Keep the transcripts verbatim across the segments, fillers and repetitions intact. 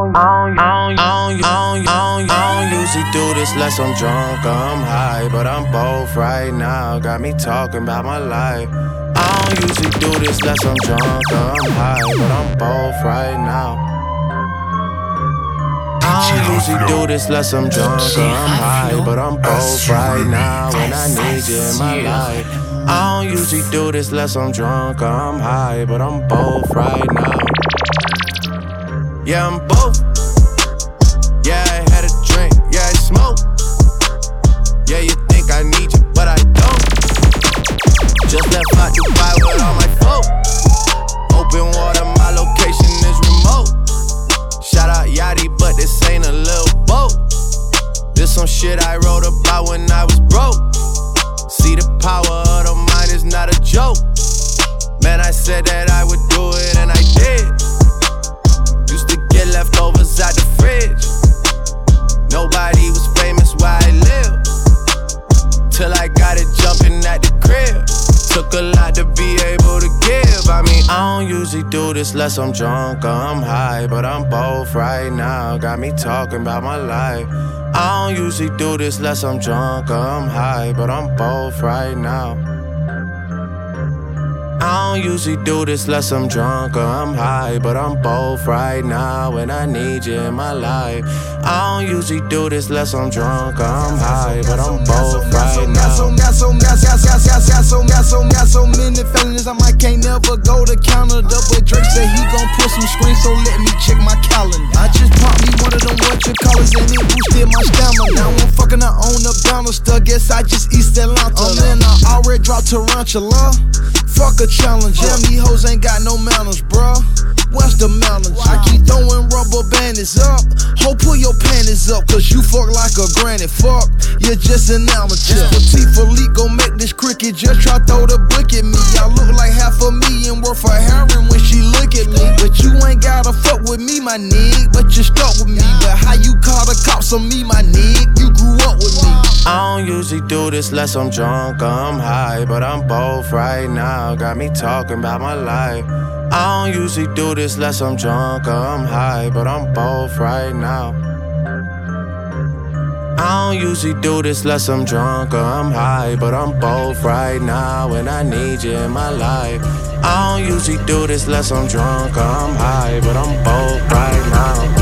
don't, I don't, I don't, I don't usually do this unless I'm drunk or I'm high, but I'm both right now. Got me talking about my life. I don't usually do this unless I'm drunk or I'm high, but I'm both right now. I don't usually do this unless I'm drunk or I'm high, but I'm both right now when I need you in my life. I don't usually do this unless I'm drunk or I'm high, but I'm both right now. Yeah, I'm both. Yeah, I had a drink, yeah, I smoke. Yeah, you think I need you, but I don't. Just left out Dubai with all my folk. Open water, my location is remote. Shout out Yachty, but this ain't a little boat. This some shit I wrote about when I was broke. See, the power of the mind is not a joke. Man, I said that I would do it and I did. Used to get leftovers out the fridge. Nobody was famous where I live, till I got it jumping at the crib. Took a lot to be able to give. I mean, I don't usually do this unless I'm drunk or I'm high, but I'm both right now. Got me talking about my life. I don't usually do this unless I'm drunk or I'm high, but I'm both right now. I don't usually do this unless I'm drunk or I'm high, but I'm both right now when I need you in my life. I don't usually do this unless I'm drunk or I'm high, but I'm both right now. Got so, got so, got so, got so, got so, got so many feelings I might can't never go to Canada, but Drake said he gon' put some screens, so let me check my calendar. I just popped me one of them what you callers and it boosted my stamina. Now I'm fucking I own the banister, guess I just East Atlanta. Um, then I already dropped Tarantula. Fuck a challenge, damn these hoes ain't got no manners, bruh. What's the manners? I keep throwing rubber bandits up. Ho, pull your panties up, cause you fuck like a granny. Fuck, you're just an amateur. Petite Philippe gon' make this cricket, just try throw the brick at me. I look like half a million worth of heroin when she look at me. But you ain't gotta fuck with me, my nigga, but you stuck with me. But how you call the cops on me, my nigga? You grew up with me. I don't usually do this unless I'm drunk or I'm high, but I'm both right now. Got me talking about my life. I don't usually do this unless I'm drunk or I'm high, but I'm both right now. I don't usually do this unless I'm drunk or I'm high, but I'm both right now when I need you in my life. I don't usually do this unless I'm drunk or I'm high, but I'm both right now.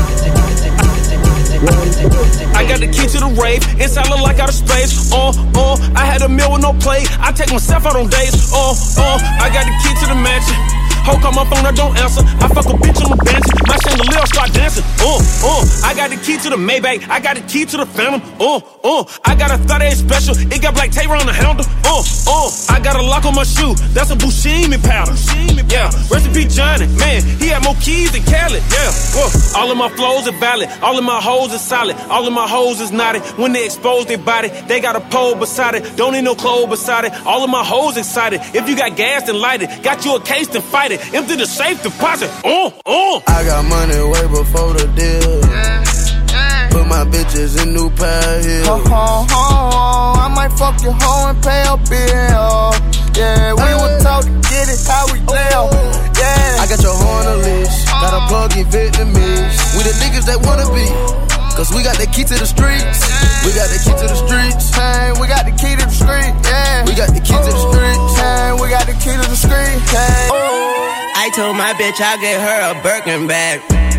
I got the key to the rave, inside look like out of space. Uh, uh, I had a meal with no plate. I take myself out on dates. Uh, uh, I got the key to the mansion. Ho, call my phone, I don't answer. I fuck a bitch on the bench. My chandelier start dancing. Uh, uh, I got the key to the Maybach. I got the key to the Phantom. Uh, uh, I got a thirty-eight special. It got black tape on the handle. Uh, uh, I got a lock on my shoe. That's a Buscemi powder. Yeah, recipe Johnny. Man, he had more keys than Khaled. Yeah, uh, all of my flows are valid. All of my hoes are solid. All of my hoes is knotted. When they expose their body, they got a pole beside it. Don't need no clothes beside it. All of my hoes excited. If you got gas, then light it. Got you a case, then fight it. Empty the safe deposit. Uh, uh. I got money way before the deal. Put my bitches in new pair of heels. Ho, ho, ho, I might fuck your hoe and pay a bill. Yeah, we will talk to get it how we live. Yeah, I got your hoe on the leash. Got a plug in Vietnamese. We the niggas that wanna be, cause we got the key to the streets. We got the key to the streets. Hey, we got the key to the street. Yeah, we got the key to the streets. Hey, we got the key to the street. Hey. I told my bitch I'll get her a Birkin bag.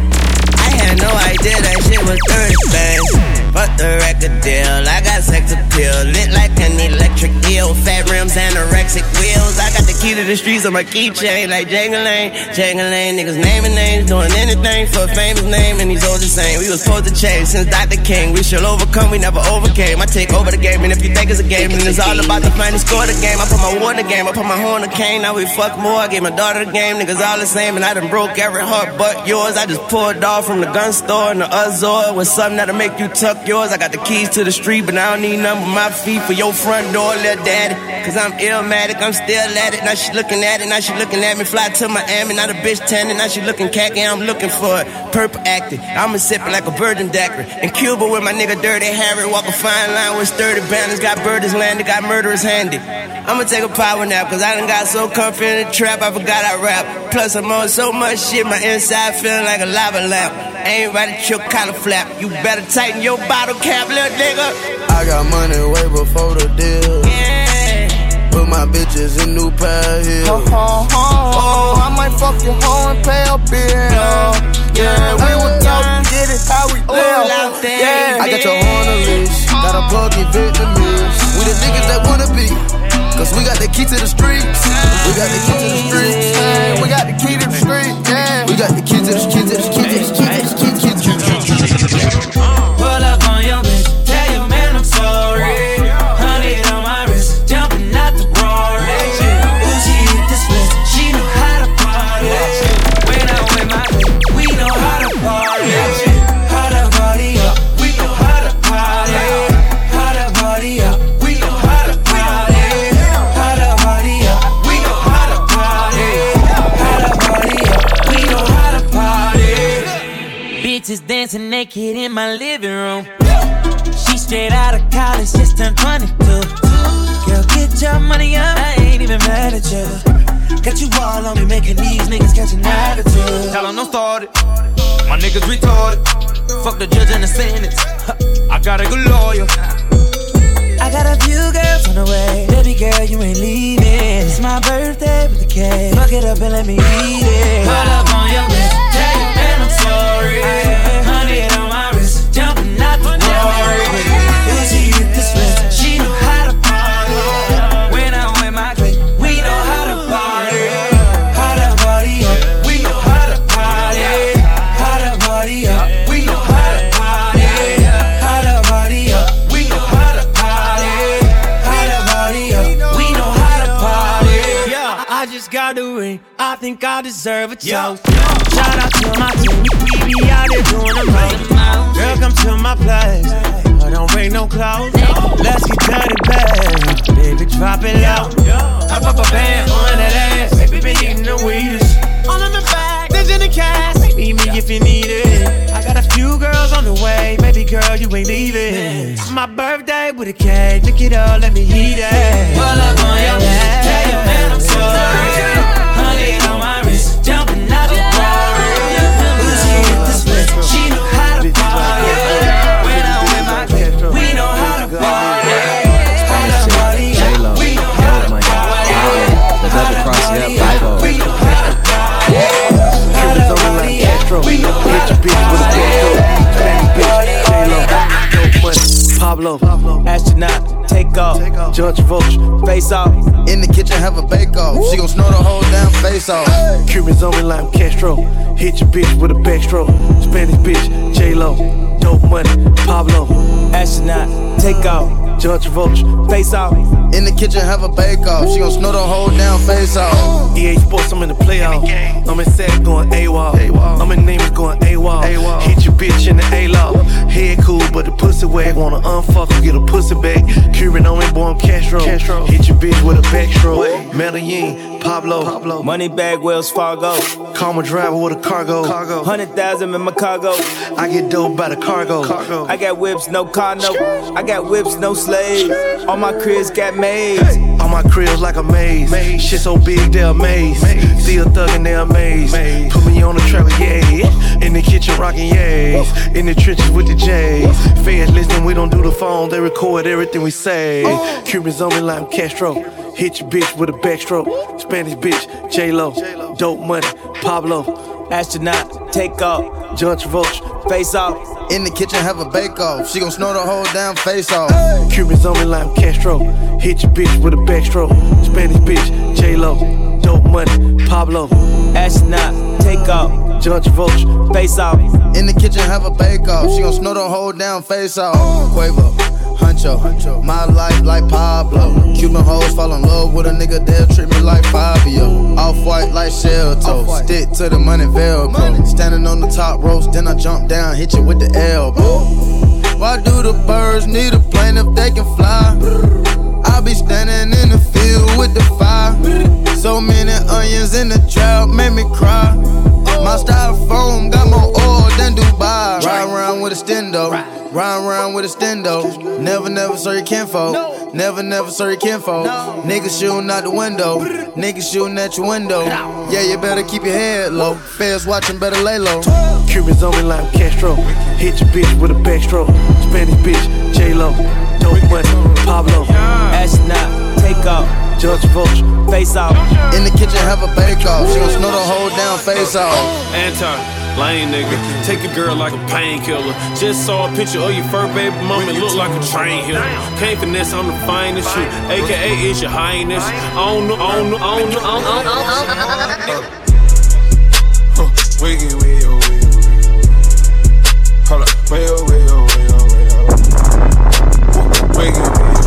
I had no idea that shit was thirty bands. Fuck the record deal, I got sex appeal. Lit like an electric eel. Fat rims, anorexic wheels. I got the key to the streets on my keychain. Like Jangling, Jangling. Niggas naming names, doing anything for a famous name. And he's all the same, we was supposed to change since Doctor King. We shall overcome, we never overcame. I take over the game, and if you think it's a game, then it's all about the final score the game. I put my war in the game, I put my horn in the cane. Now we fuck more, I gave my daughter the game. Niggas all the same, and I done broke every heart but yours. I just pulled off from the gun store in the Azor with something that'll make you tuck yours. I got the keys to the street, but I don't need none but my feet for your front door, little daddy. Cause I'm illmatic, I'm still at it. Now she looking at it, now she looking at me. Fly to Miami, now the bitch tanning. Now she looking khaki, I'm looking for it. Purple acting, I'ma sip it like a virgin daiquiri. In Cuba with my nigga Dirty Harry. Walk a fine line with sturdy balance. Got birders landed, got murderers handy. I'ma take a power nap, cause I done got so comfy in the trap, I forgot I rap. plus I'm on so much shit, my inside feeling like a lava lamp. Ain't right at your collar flap. You better tighten your bottle cap, little nigga. I got money way before the deal. Yeah. Put my bitches in new pair heels. Oh, oh, oh, oh, I might fuck your hoe and pay a bill. Yeah, we would talk, get it how we live. Yeah, I got your horn on leash. Got a plug in Vietnamese. We the niggas that wanna be. Cause we got the key to the streets. We got the key to the streets. yeah, we got the key to the street. Yeah, We got the key to the key to the key to the key to the key to the key. Pull up on your bitch, tell your man I'm sorry. Honey on my wrist, jumping out the Rory. Ooh, she hit the split, she know how to party. When I'm with my bitch, we know how to party. How to party up, we know how to party. How to party up, we know how to party. How to party up, we know how to party. How to party up, we know how to party. Bitches dancing naked in my living room. She straight out of college, just turned twenty-two. Girl, get your money up, I ain't even mad at you. Got you all on me, making these niggas catch an attitude. Tell them don't start it, my niggas retarded. Fuck the judge and the sentence, I got a good lawyer. I got a few girls on the way. Baby girl, you ain't leaving. It's my birthday with the cake. Fuck it up and let me eat it. Pull up on your bitch, tell your man I'm sorry. Honey on my wrist, jumping out the glory. Ooh, she hit the switch, she know how to party. When I'm with my clique, we know how to party. How to party up, we know how to party. How to party up, we know how to party. How to party up, we know how to party. How to party up, we know how to party. Yeah, I just got the ring, I think I deserve a toast. Shout out to my team, we be out there doing the most. Girl, come to my place, I don't bring no clothes. Let's get dirty, babe. Baby, drop it low. I pop a band on that ass. Baby, been eating the weedest. All in the back, there's in the cash. Meet me if you need it. I got a few girls on the way. Baby girl, you ain't leaving. It's my birthday with a cake. Look it up, let me eat it. Pull up on your head. Tell your man I'm sorry. Honey on my wrist, jumping out the glory. Ooh, she hit the split, she know how to party. When I'm with my clique, we know how to party. How to party, we know how to party. The double cross, yeah, five oh. We know how to party. How to party, we know how to party. Pablo, astronaut, take off. Judge Vulture, face off. In the kitchen, have a bake off. She gon' snort the whole damn face off. Cubans on me like Castro. Hit your bitch with a backstroke. Spanish bitch, J-Lo. Dope money, Pablo. Astronaut, take off. Judge Vulture, face off. In the kitchen, have a bake off. She gon' snort the whole damn face off. E A Sports, I'm in the playoff. I'm in Sack going AWOL. I'm in Neiman's going AWOL. Hit your bitch in the A-Law. Head cool, but the pussy wag. Wanna unfuck her, get a pussy back. Cuban on me, boy, I'm Castro. Hit your bitch with a backstroke. Medellin, Pablo. Money bag, Wells Fargo. Karma driver with a cargo. Hundred thousand in my cargo. I get dope by the cargo. I got whips, no car, no. I got whips, no slaves. All my cribs got maids. All my cribs like a maze. Shit so big, they're amazed. Still thuggin', they're amazed. Put me on the track, yeah. In the kitchen, rockin' yays. In the trenches with the J's. Fans listen, we don't do the phone. They record everything we say. Cubans on me like I'm Castro. Hit your bitch with a backstroke. Spanish bitch, J-Lo. Dope money, Pablo. Astronaut, take off. Judge Vulture, face off. In the kitchen, have a bake off. She gon' snort the whole damn face off. Cubans on me like I'm Castro. Hit your bitch with a backstroke. Spanish bitch, J-Lo. Dope money, Pablo. Astronaut, take off. Judge Vulture, face off. In the kitchen, have a bake off. She gon' snort the whole damn face off. Quavo, Huncho, my life like Pablo. Cuban hoes fall in love with a nigga, they'll treat me like Fabio. Off-white like shell toe, stick to the money Velcro. Standing on the top ropes, then I jump down, hit you with the elbow. Why do the birds need a plane if they can fly? I be standing in the field with the fire. So many onions in the trap, made me cry. My styrofoam got more oil than Dubai. Ride around with a stendo, ride around with a stendo. Never, never saw your kinfolk. Never, never sorry kinfolk. No. Niggas shooting out the window. Niggas shooting at your window. Yeah, you better keep your head low. Feds watching, better lay low. Cubans on me like Castro. Hit your bitch with a backstroke. Spanish bitch, J-Lo. Dope money, Pablo. Astronaut, take off. Judge Vulture, face off. In the kitchen, have a bake off. She gon' snort the whole down face off. Anti, lame nigga. Take a girl like a painkiller. Just saw a picture of your fur baby mama. It look like a train hill. Can't finesse, I'm the finest shoot. A K A is your highness. I don't know, I don't know, I don't know, I don't know, I don't know. Wiggy, wiggy, wiggy, wiggy. Hold up, way oh, way oh, way oh, way oh. Wiggy, wiggy,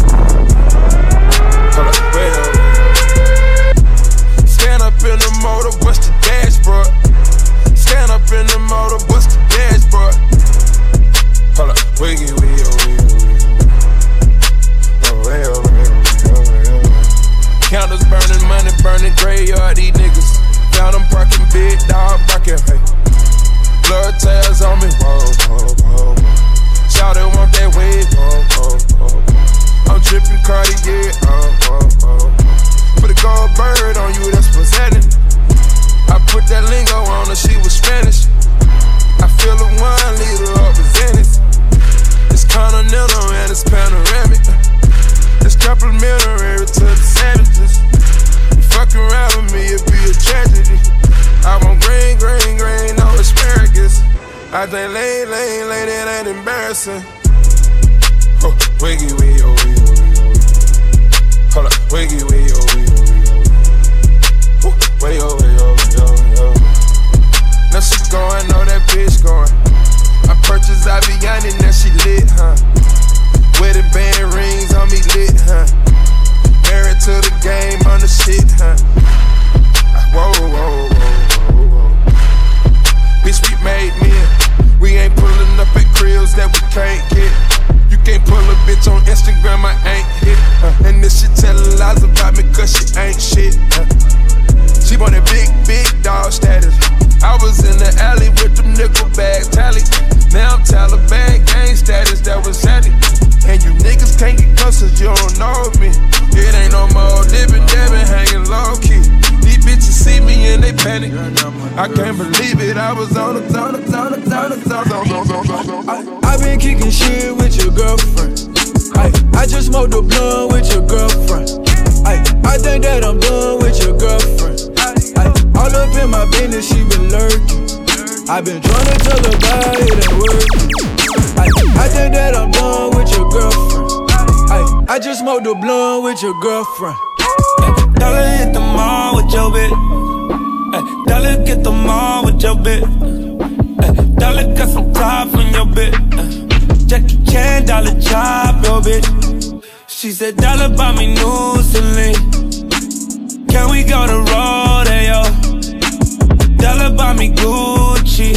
hold up, way oh, way oh. Stand up in the motor, bust the dashboard. Stand up in the motor, bust the dashboard. Hold up, wiggy, wiggy, oh, way oh, way oh, way oh. Counters burning, money burning, graveyard, these niggas. Found them parking, big dog barking, hey. Blood tails on me, whoa, whoa, whoa, whoa. Shout it, want that wave, whoa, whoa, whoa. I'm tripping Cartier, oh, whoa, whoa. Put a gold bird on you, that's presenting. I put that lingo on her, she was Spanish. I feel a wine leader represented. It's continental and it's panoramic. It's complimentary to the savages. Fucking around with me, it'd be a tragedy. I want green, green, green, no asparagus. I think lane, lane, lane, it ain't embarrassing. Oh, wiggy, wiggy, oh, wiggy, oh, wiggy. Hold up, wiggy, wiggy, oh, wiggy, oh, wiggy. Wiggy, oh, wiggy, oh, wiggy, oh, wiggy. Now she going, know that bitch going. I purchased Aviani, now she lit, huh? Wedding band rings on me lit, huh? Married to the game on the shit, huh? Whoa, whoa, whoa, whoa, whoa. Bitch, we made men. We ain't pulling up at cribs that we can't get. You can't pull a bitch on Instagram, I ain't hit. Uh, and this shit tellin' lies about me, cause she ain't shit. Uh, she want that big, big dog status. I was in the alley with them nickel bags, tally. Now I'm Taliban gang status, that was handy. And you niggas can't get close cause you don't know me. It ain't no more dippin', dabbin', hanging low key. These bitches see me and they panic. I can't believe it, I was on the on the on the on the on I been kicking shit with your girlfriend. I, I just smoked a blunt with your girlfriend. I, I think that I'm done with your girlfriend. I, all up in my business, she been lurking. I been trying to tell her about it ain't working. I, I think that I'm done with your girlfriend. I, I just smoked a blunt with your girlfriend. Dollar hit the mall with your bitch. Ay, dollar get the mall with your bitch. Ay, dollar got some top on your bitch. Ay, Jackie Chan, dollar chop your bitch. She said dollar buy me new Celine. Can we go to Rodeo? Dollar buy me Gucci.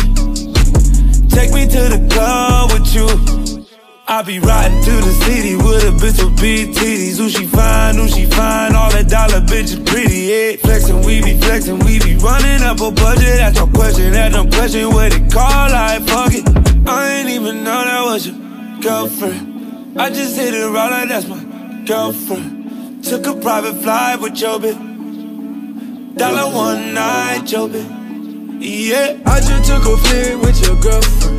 Take me to the club with you. I be riding to the city with a bitch with big titties. Who she fine, who she fine, all that dollar bitch is pretty, yeah. Flexin', we be flexin', we be running up a budget. That's no question, that's no question what it call, like fuck it. I ain't even know that was your girlfriend. I just hit it right like that's my girlfriend. Took a private flight with your bitch. Dollar one night, your bitch, yeah. I just took a flick with your girlfriend.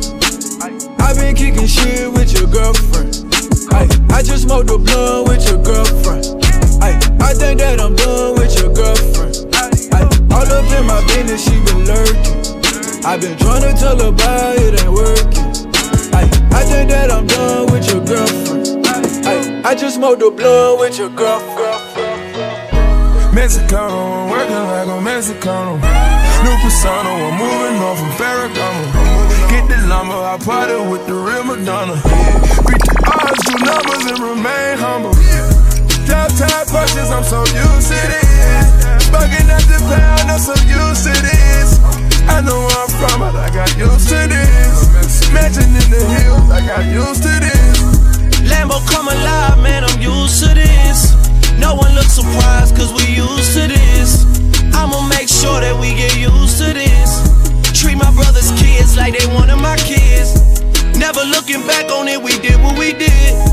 I been kicking shit with your girlfriend. I, I just smoked a blunt with your girlfriend. I, I think that I'm done with your girlfriend. I, all up in my business, she been lurking. I been trying to tell her about it ain't working. I, I think that I'm done with your girlfriend. I, I just smoked a blunt with your girlfriend. Mexicano, I'm working like a Mexicano. New persona, I'm moving on from Ferragamo. Get the lumber, I party with the real Madonna. Beat the odds, do numbers and remain humble. Drop top punches, I'm so used to this. Bugging at the pound, I'm so used to this. I know where I'm from, but I got used to this. Mansion in the hills, I got used to this. Lambo come alive, man, I'm used to this. No one looks surprised, cause we used to this. I'ma make sure that we get used to this. Treat my brother's kids like they one of my kids. Never looking back on it, we did what we did. Could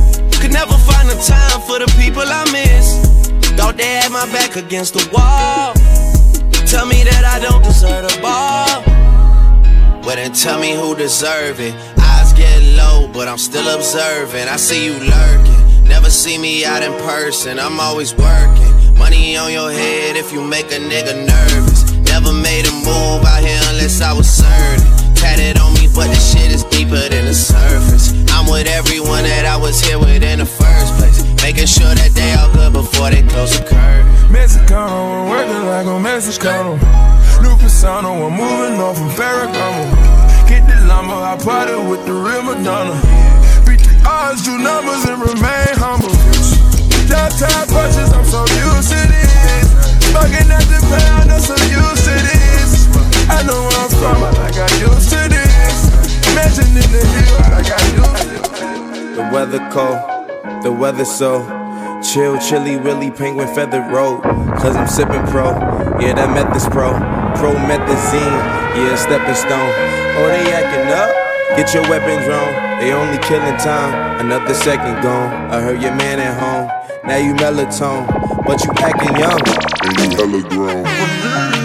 could never find the time for the people I miss. Thought they had my back against the wall. Tell me that I don't deserve the ball. Well then tell me who deserve it. Eyes get low, but I'm still observing. I see you lurking, never see me out in person. I'm always working. Money on your head if you make a nigga nervous. Never made a move out here unless I was certain. Tatted on me, but the shit is deeper than the surface. I'm with everyone that I was here with in the first place, making sure that they all good before they close the curtain. Mexicano, I'm working like a Mexicano. New persona, I'm moving on from Ferragamo. Get the llama, I party with the real Madonna. Beat the odds, do numbers and remain humble. Downtown punches, I'm so used to this. Fucking at the pound, I'm so used to this. I know where I'm from, I got used to this. Mansion in the hill, I got used to this. The weather cold, the weather so chill, chilly, willy, penguin feathered road. Cause I'm sipping pro, yeah that meth is pro. Promethazine, yeah stepping stone. Oh they acting up, get your weapons wrong. They only killing time, another second gone. I heard your man at home, now you melatonin, but you acting young and you hella grown.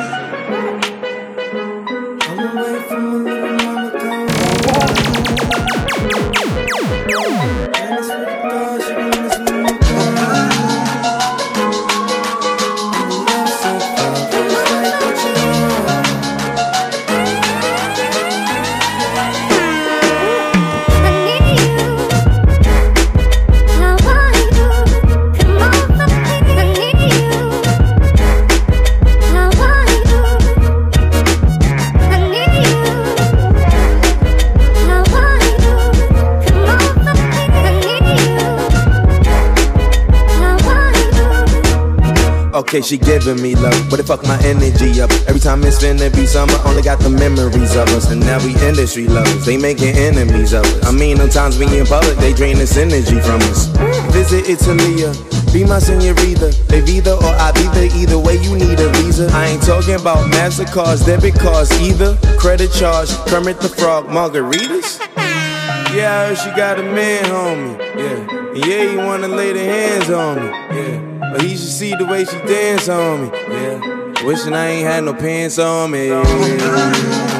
Okay, she giving me love, but it fuck my energy up. Every time it's finna be summer, only got the memories of us. And now we industry lovers, they making enemies of us. I mean, sometimes we in public, they drain this energy from us. Visit Italia, be my senorita. They Vida or I Vida, either way you need a visa. I ain't talking about MasterCards, debit cards either. Credit charge, Kermit the Frog, margaritas. Yeah, I heard she got a man, homie. Yeah, and yeah, he wanna lay their hands on me. Yeah. But he should see the way she dance on me, yeah. Wishing I ain't had no pants on me, yeah.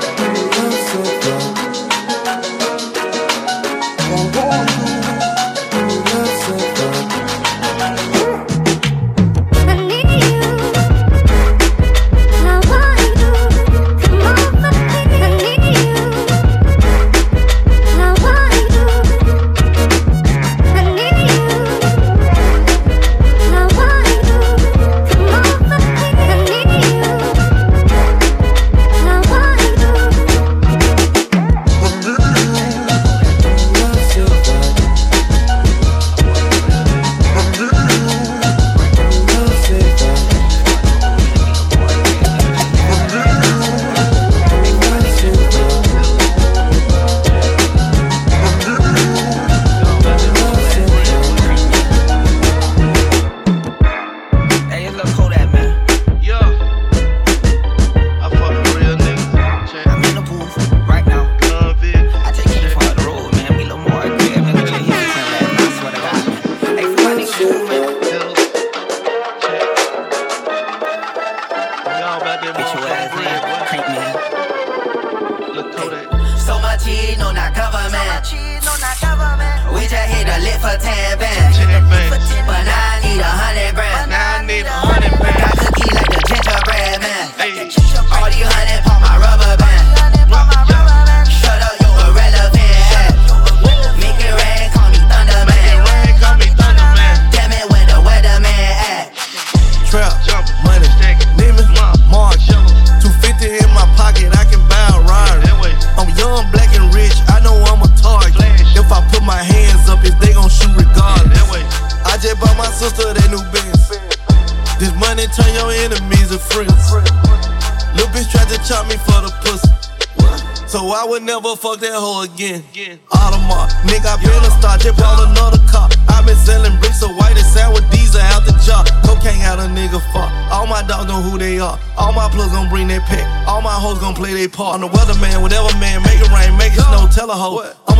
I would never fuck that hoe again. Audemars, nigga, I been a star, just bought another car. I been selling bricks of white and sour with diesel out the jar. Cocaine out a nigga fuck. All my dogs know who they are. All my plugs gon' bring their pet. All my hoes gon' play their part. I'm the weatherman, whatever man, make it rain, make it snow, tell a hoe. I'm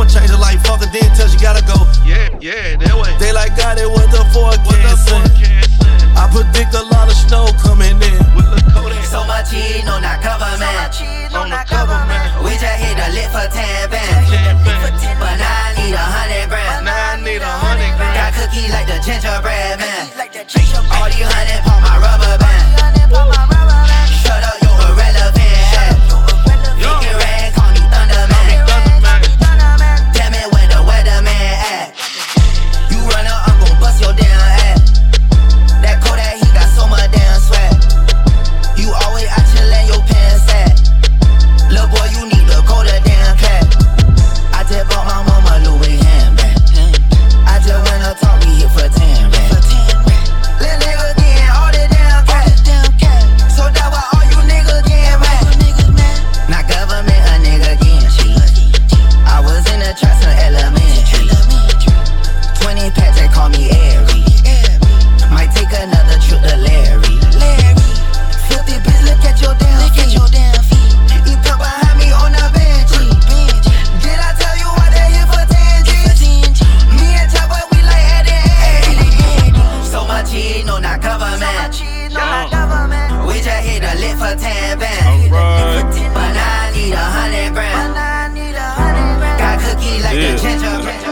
I'ma change your life, fuck it, then tell you gotta go. Yeah, yeah, that way. They like God, they what the forecast saying. I predict a lot of snow coming in. So much heat, no not government. On the government. We just hit the lit for ten bands. But now I need a hundred grand. Now I need a hundred grand. Got cookie like the gingerbread man. All these hundred pop my rubber band. Shut up, you irrelevant. Make it rain, call me Thunderman. Damn it, where the weatherman at? You run up, I'm gon' bust your damn ass. That Kodak, he got so much damn swag. You always out your lane, your pants at. Lil' boy, you need to go to damn cat. I just bought my mama Louis handbag. I just went up talk, we hit for ten racks. Lil' nigga getting all the damn cash. So that why all you niggas getting mad. Not government, a nigga getting cheap. I was in the trap, some elementary. Twenty packs, they call me Airy. Might take another trip to Larry. Filthy bitch, look at your damn feet. You come behind me on the bench. Did I tell you why they here for ten G's? Me and Chopper, we like Eddie and Eddie. So much heat, no not government. We just hit the lit for ten bands. But now I need a hundred grand. Got cookie like the gingerbread.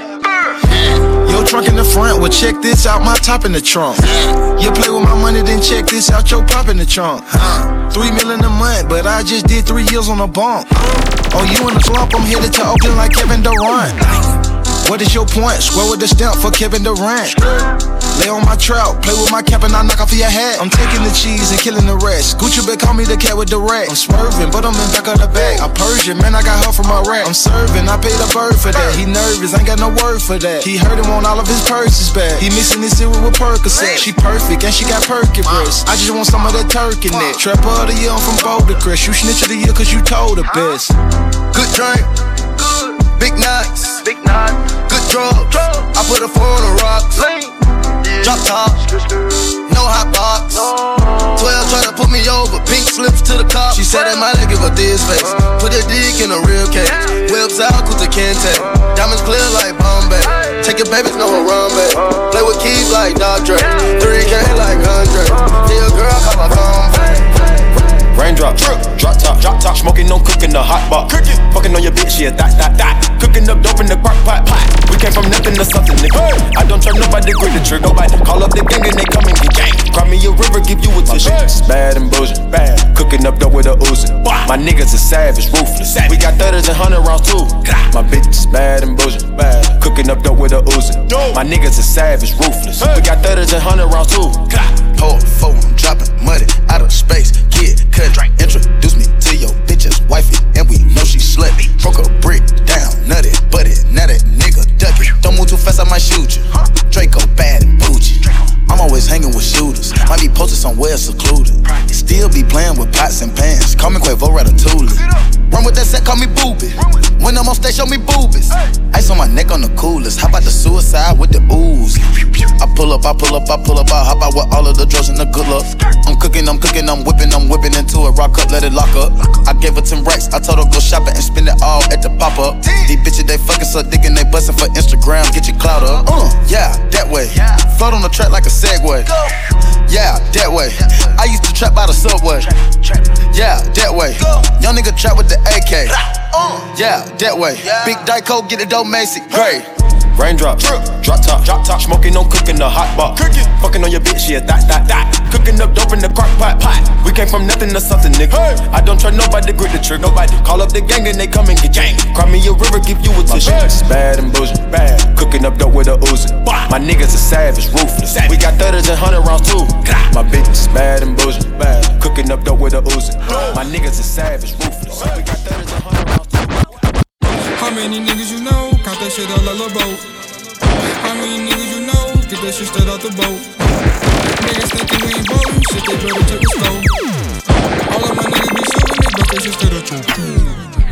Your trunk in the front, well check this out, my top in the trunk. You play with my money, then check this out, your pop in the trunk. Huh? Three million a month, but I just did three years on a bump. Oh, you in the slump, I'm headed to Oakland like Kevin Durant. What is your point? Square with the stamp for Kevin Durant. Lay on my trout, play with my cap and I knock off your hat. I'm taking the cheese and killing the rest. Gucci bet call me the cat with the rack. I'm swerving, but I'm in back of the bag. I'm Persian, man, I got her from Iraq. I'm serving, I paid a bird for that. He nervous, ain't got no word for that. He heard him on all of his purses back. He mixing his cereal with Percocet. She perfect and she got perky breasts. I just want some of that turkey neck. Trapper of the year, I'm from Boulder Crest. You snitch of the year cause you told the best. Good drink, good. Big nuts, big nuts. Good drugs, I put a four on the rocks. Drop top, no hot box. Twelve try to put me over, pink slips to the cop. She said that my leg give a this face. Put a dick in a real cage. Whips out, Kuta Kente. Diamonds clear like Bombay. Take your babies, no Harambe. Play with keys like Dre. three K like Andre. See a girl, call my phone. Raindrop, drop top, drop top, smoking, no cooking, the hot pot. Cooking, fucking on your bitch, yeah, that, that, that. Cooking up dope in the crock pot, pot. We came from nothing to something, nigga. I don't turn nobody, grip the trigger, nobody. Call up the gang and they come and get gang. Cry me a river, give you a tissue. It's bad and bullshit, bad. Cooking up dope with a Uzi. My niggas are savage, ruthless. We got thirties and hundred rounds too. My bitch is bad and bullshit, bad. Cooking up dope with a Uzi. My niggas are savage, ruthless. We got thirties and hundred rounds too. Hold phone, dropping money out of space. Kid, cut, introduce me to your bitch's wifey, and we know she slutty. Broke a brick down, nutty, buddy. Now that nigga duck it. Don't move too fast, I might shoot you. Draco bad and bougie. I'm always hanging with shooters. Might be posted somewhere secluded. Still be playing with pots and pans. Call me Quavo Ratatouille. Run with that set, call me Booby. When I'm on stage, show me boobies. Ice on my neck on the coolest. How about the suicide with the ooze? I pull up, I pull up, I pull up, I hop out with all of the drugs and the good luck. I'm cooking, I'm cooking, I'm whipping, I'm whipping into it. Rock up, let it lock up. I gave her ten racks, I told her go shopping and spend it all at the pop up. These bitches, they fucking suck dick and they bustin' for Instagram. Get your clout up. Uh, yeah, that way. Float on the track like a Segway. Yeah, that way. I used to trap by the subway. Yeah, that way. Young nigga trap with the A K. Yeah, that way. Big Dyco, get it dope, Macy. Great. Raindrop, drop top, drop top, smoking, no cooking, the hot pot. Cooking, fucking on your bitch, yeah, that, that, that. Cooking up dope in the crock pot, pot. We came from nothing to something, nigga. Hey. I don't try nobody, grip the trigger, nobody. Call up the gang and they come and get gang. Cry me a river, give you a tissue. It's bad and bullshit, bad. Cooking up dope with a Uzi. My niggas are savage, ruthless. We got thirties and hundred rounds too. My bitch is bad and bullshit, bad. Cooking up dope with a Uzi. My niggas are savage, ruthless. We got thirties and hundred rounds too. How many niggas you know? Count that shit out like a boat. How many niggas you know? Get that shit straight out the boat. Niggas thinking we ain't ballin', shit they better check the scope. All of my niggas be shootin', they bust that shit straight out the boat.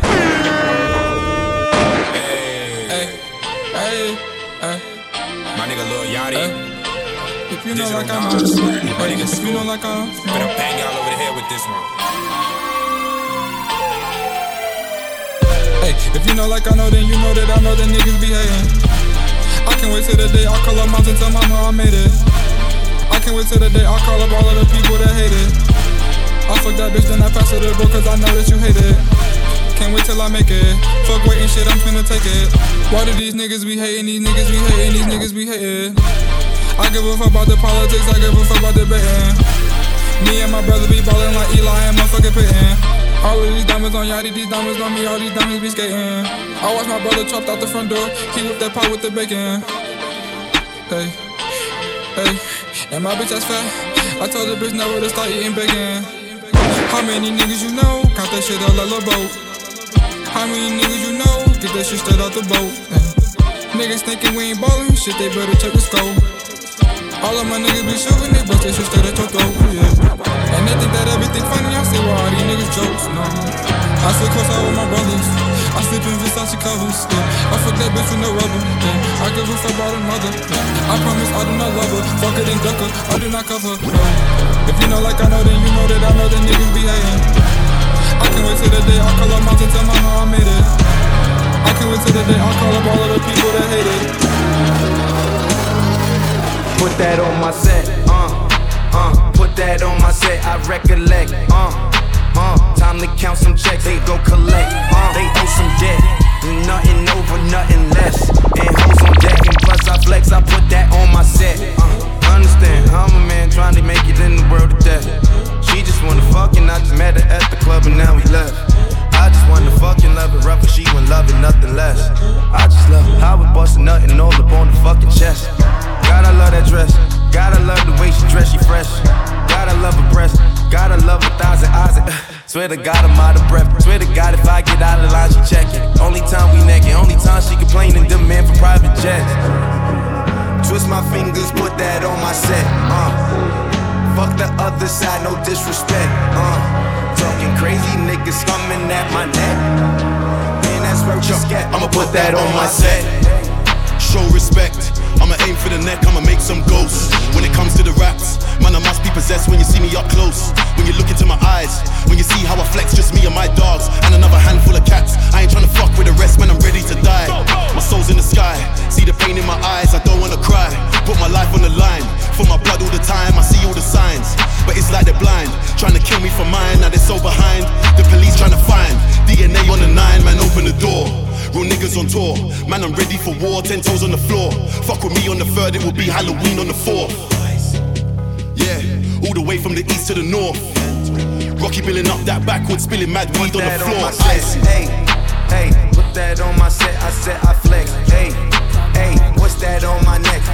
Hey, hey, hey. My nigga Lil Yachty. If you know like I'm, if you know like I'm, better bang y'all over the head with this one. Hey, if you know like I know, then you know that I know that niggas be hating. I can't wait till the day I call up moms and tell mama I made it. I can't wait till the day I call up all of the people that hate it. I fuck that bitch, then I pass her the bro, cause I know that you hate it. Can't wait till I make it. Fuck waiting shit, I'm finna take it. Why do these niggas be hating? These niggas be hating, these niggas be hating. I give a fuck about the politics, I give a fuck about the betting. Me and my brother be ballin' like Eli and motherfucking Peyton. All of these diamonds on Yachty, these diamonds on me, all these diamonds be skating. I watch my brother chopped out the front door, he whipped that pot with the bacon. Hey, hey, and my bitch ass fat, I told the bitch never to start eating bacon. How many niggas you know, count that shit out like a boat. How many niggas you know, get that shit straight out the boat. Hey. Niggas thinking we ain't ballin', shit they better check the scope. All of my niggas be shooting, they bust that shit straight at your throat, yeah. And they think that everything funny, I say, well, all these niggas jokes, no. I sit close out with my brothers, I sleep in Versace covers, yeah. I fuck that bitch with no rubber, yeah. I give a fuck about another, yeah. I promise I do not love her, fuck it and duck her, I do not cover her, no. If you know like I know, then you know that I know that niggas be hating. I can't wait till the day I call up moms and tell mama I made it. I can't wait till the day I call up all of the people that hate it. Put that on my set, uh, uh, put that on my set, I recollect, uh, uh, time to count some checks, they go collect, uh, they owe some debt, nothing over, nothing less, and hoes on deck, and plus I flex, I put that on my set, uh, understand, I'm a man trying to make it in the world of death, she just wanna fuck and I just met her at the club and now we left, I just wanna fucking love her rough and she wouldn't love it, nothing less, I just love how we bustin' nothing all up on the fucking chest. Gotta love that dress, gotta love the way she dress, she fresh. Gotta love her breast, gotta love her thighs and eyes. And, uh, swear to God I'm out of breath. Swear to God if I get out of line, she checkin'. Only time we naked, only time she complainin', demand for private jets. Twist my fingers, put that on my set. Uh, fuck the other side, no disrespect. Uh, talking crazy niggas coming at my neck. Man, that's where you scat. I'ma put that on my set. Show respect. I'ma aim for the neck, I'ma make some ghosts. When it comes to the raps, man, I must be possessed when you see me up close. When you look into my eyes, when you see how I flex, just me and my dogs, and another handful of cats. I ain't tryna fuck with the rest, man, I'm ready to die. My soul's in the sky, see the pain in my eyes, I don't wanna cry. Put my life on the line, for my blood all the time, I see all the signs. But it's like they're blind, trying to kill me for mine, now they're so behind. The police trying to find D N A on the nine, man, open the door. Real niggas on tour, man, I'm ready for war, ten toes on the floor. Fuck with me on the third, it will be Halloween on the fourth. Yeah, all the way from the east to the north. Rocky billing up that backwards, spilling mad weed on the floor. Hey, hey, put that on my set, I said I flex. Hey, hey, what's that on my neck?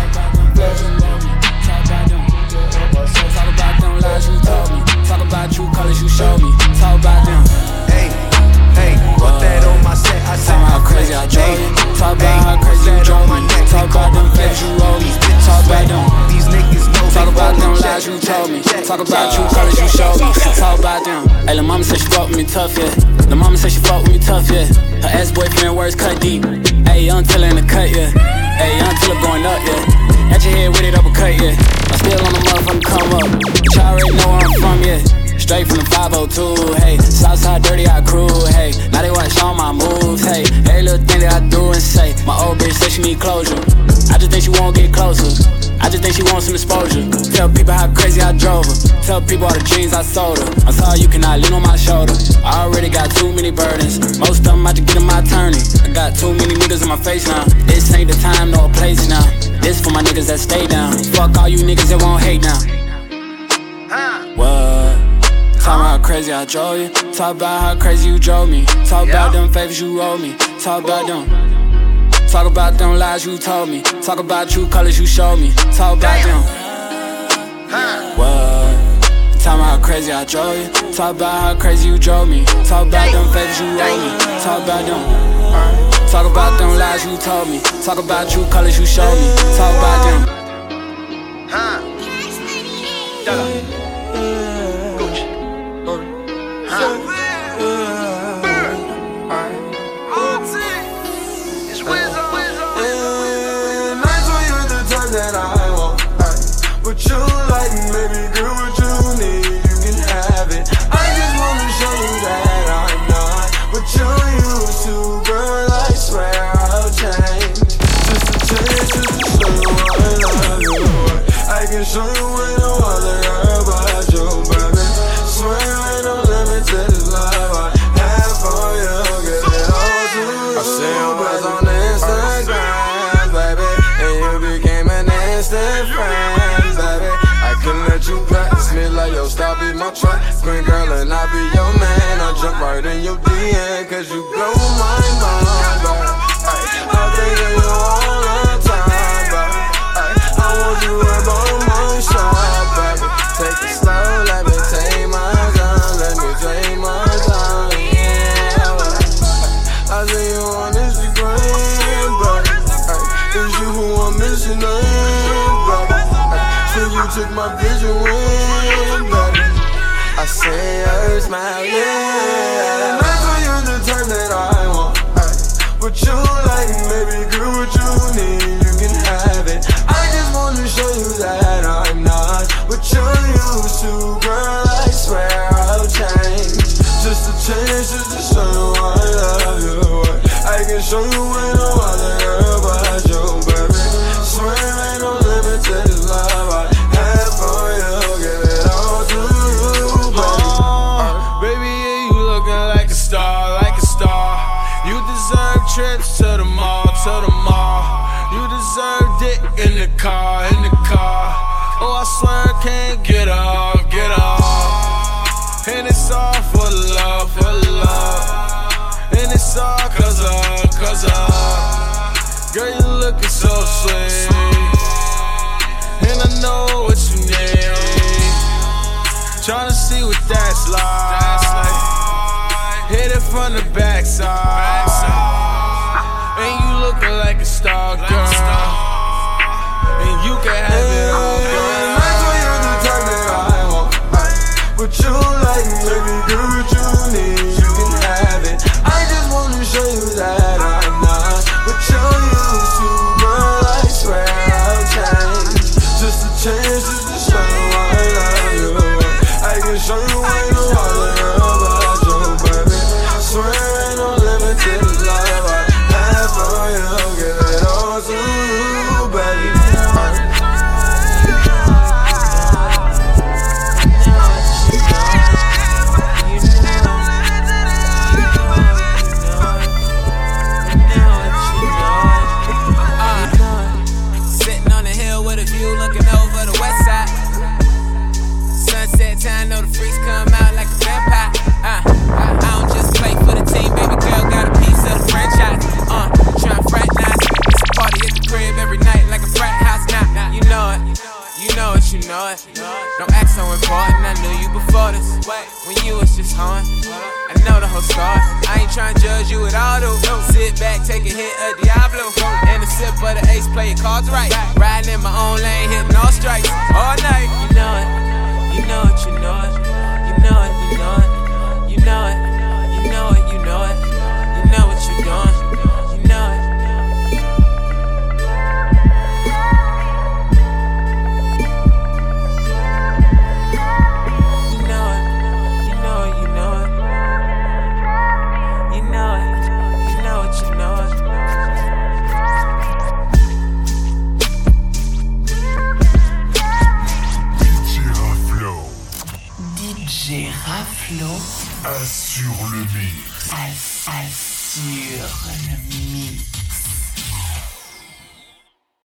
Talk about them lies you told me. Talk about you colors you showed me. Talk about them. Hey, hey, put that on my set, I said how crazy I drove you. Talk about how crazy you drove me. Talk about them feds you roll me. Talk about them. These niggas know. Talk about them lies you told me. Talk about you colors you showed me. Talk about them. Hey, lil' mama said she fuck with me tough, yeah. Lil' mama said she fuck with me tough, yeah. Her ex-boyfriend words cut deep. Hey, young Tiller in the cut, yeah. Hey, young Tiller going up, yeah. At your head with it uppercut, yeah. I'm still on the motherfucking come up. But y'all already know where I'm from, yeah. Straight from the five oh two, hey. Southside dirty, I crew, hey. Now they watch all my moves, hey. Every little thing that I do and say. My old bitch say she need closure. I just think she won't get closer. I just think she wants some exposure. Tell people how crazy I drove her. Tell people all the dreams I sold her. I'm sorry you cannot lean on my shoulder. I already got too many burdens. Most of them I just get in my turning. I got too many niggas in my face now. This ain't the time nor place now. This for my niggas that stay down. Fuck all you niggas that won't hate now. What? Talk about how crazy I drove you. Talk about how crazy you drove me. Talk about them favors you owe me. Talk about them. Talk about them lies you told me. Talk about true colors you showed me. Talk about them. What? Talk about how crazy I drove you. Talk about how crazy you drove me. Talk about them favors you owe me. Talk about them. Talk about them lies you told me. Talk about true colors you showed me. Talk about them. Gucci. That I want, what you like, baby girl, what you need, you can have it. I just wanna show you that I'm not what you used to, girl. instant friend, baby. I can let you pass me like, yo, stop be my track. Green girl and I be your man. I jump right in your D M, cause you blow my mind, baby. I think of you all the time, baby. I want you in both my shot, baby. Take it slow, let me take my time. Let me take my time, yeah. I see you on Instagram, baby. It's you who I'm missing, baby. So you took my vision away, baby. I say her smile, yeah. That's when you're the type that I want. What you like, baby girl, what you need, you can have it. I just wanna show you that I'm not what you're used to, girl. I swear I'll change, just a change, just to show you I love you. I can show you ain't no other girl but you, baby. Swear ain't no limit to this love I have for you. Give it all to you, baby. Oh, baby, yeah, you looking like a star, like a star. You deserve trips to the mall, to the mall. You deserve dick in the car, in the car. Oh, I swear I can't get off, get off. And it's all for the love, for the love. And it's all cause of, cause of. Girl, you looking so sweet. And I know what you need. Tryna see what that's like. Hit it from the backside. And you looking like a star, girl. And you can have it all, girl. That's when you're the type that I want. What you like, baby girl, what you need, you can have it. I just wanna show you that I'm not what you're used to, girl. I swear I'll change, just a chance, just to show you I love you. I can show you ain't no other girl but you, baby. Swear ain't no limit to this love I have for you. Give it all to you, baby. Sitting on the hill with a view looking over the west side. Sunset time, know the freaks come out like a vampire. Uh, I, I don't just play for the team, baby girl got a piece of the franchise. Uh, tryna fraternize, it's a party at the crib every night like a frat house. Now, nah, you know it, you know it, you know it. Don't act so important, I knew you before this. When you was just home, I know the whole story. I ain't tryna judge you at all, though. Sit back, take a hit of Diablo, and a sip of the ace, play your cards right. Riding in my own lane, hitting all strikes all night. You know it. You know it, you know it, you know it, you know it, you know it, you know it, you know it, you know what you're doing, you know it. You know it, you know it, you know it, you know it, you know it, you know it. D J Raflo assure le mix. Assure le mix.